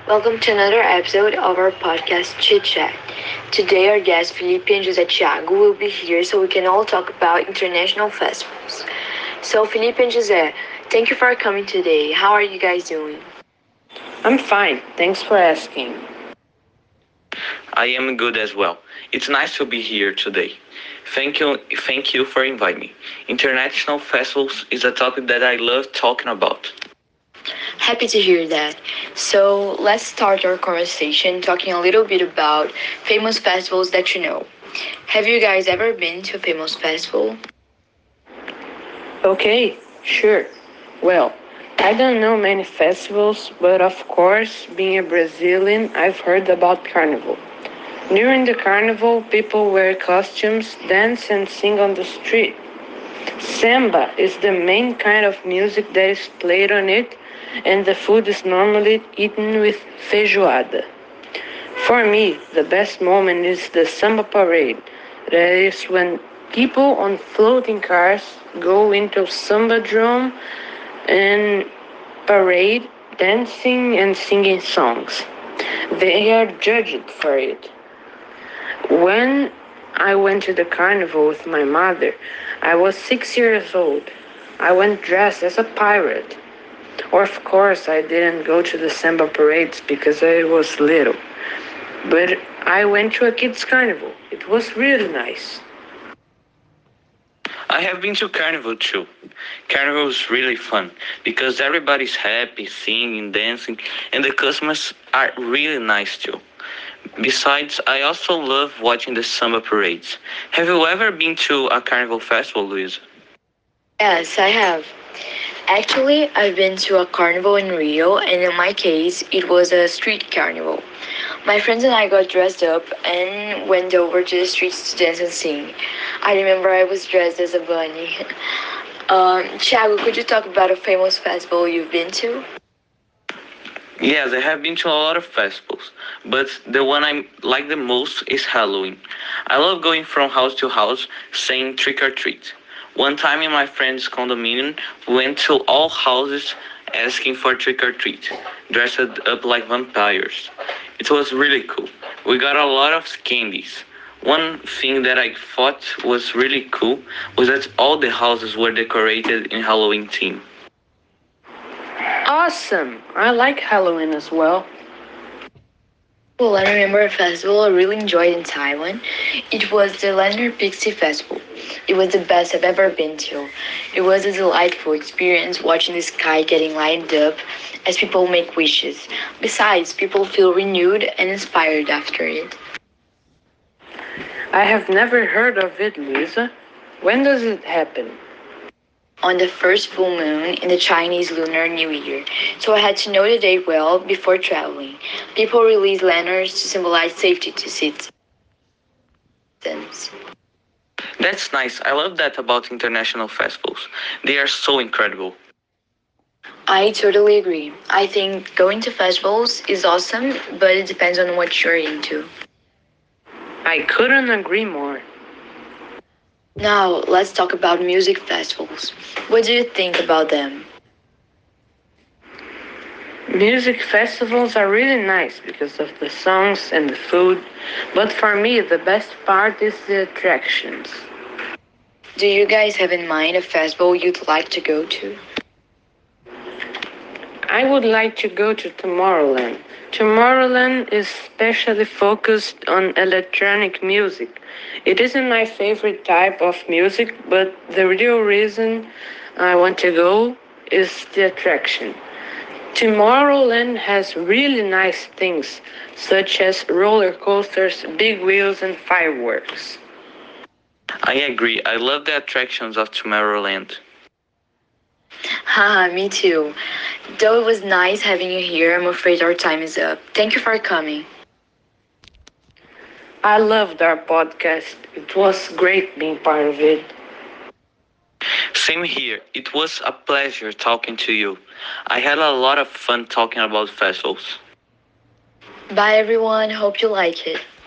Welcome to another episode of our podcast Chit Chat. Today, our guests Felipe and José Thiago will be here so we can all talk about international festivals. So, Felipe and José, thank you for coming today. How are you guys doing? I'm fine, thanks for asking. I am good as well. It's nice to be here today. Thank you for inviting me. International festivals is a topic that I love talking about. Happy to hear that. So, let's start our conversation talking a little bit about famous festivals that you know. Have you guys ever been to a famous festival? Okay, sure. Well, I don't know many festivals, but of course, being a Brazilian, I've heard about Carnival. During the Carnival, people wear costumes, dance, and sing on the street. Samba is the main kind of music that is played on it, and the food is normally eaten with feijoada. For me, the best moment is the samba parade. That is when people on floating cars go into samba drum and parade, dancing and singing songs. They are judged for it. When I went to the carnival with my mother, I was 6 years old. I went dressed as a pirate. Of course, I didn't go to the samba parades because I was little. But I went to a kids' carnival. It was really nice. I have been to Carnival too. Carnival is really fun because everybody's happy, singing, dancing, and the customers are really nice too. Besides, I also love watching the samba parades. Have you ever been to a carnival festival, Luisa? Yes, I have. Actually, I've been to a carnival in Rio, and in my case, it was a street carnival. My friends and I got dressed up and went over to the streets to dance and sing. I remember I was dressed as a bunny. Thiago, could you talk about a famous festival you've been to? Yes, I have been to a lot of festivals, but the one I like the most is Halloween. I love going from house to house saying trick or treat. One time in my friend's condominium, we went to all houses asking for trick or treat, dressed up like vampires. It was really cool. We got a lot of candies. One thing that I thought was really cool was that all the houses were decorated in Halloween theme. Awesome! I like Halloween as well. Well, I remember a festival I really enjoyed in Taiwan. It was the Lantern Pixie Festival. It was the best I've ever been to. It was a delightful experience watching the sky getting lighted up as people make wishes. Besides, people feel renewed and inspired after it. I have never heard of it, Luisa. When does it happen? On the first full moon in the Chinese Lunar New Year, so I had to know the date well before traveling. People release lanterns to symbolize safety to citizens. That's nice. I love that about international festivals. They are so incredible. I totally agree. I think going to festivals is awesome, but it depends on what you're into. I couldn't agree more. Now, let's talk about music festivals. What do you think about them? Music festivals are really nice because of the songs and the food, but for me, the best part is the attractions. Do you guys have in mind a festival you'd like to go to? I would like to go to Tomorrowland. Tomorrowland is specially focused on electronic music. It isn't my favorite type of music, but the real reason I want to go is the attraction. Tomorrowland has really nice things, such as roller coasters, big wheels, and fireworks. I agree. I love the attractions of Tomorrowland. Haha, me too. Though it was nice having you here, I'm afraid our time is up. Thank you for coming. I loved our podcast. It was great being part of it. Same here. It was a pleasure talking to you. I had a lot of fun talking about festivals. Bye everyone, hope you like it.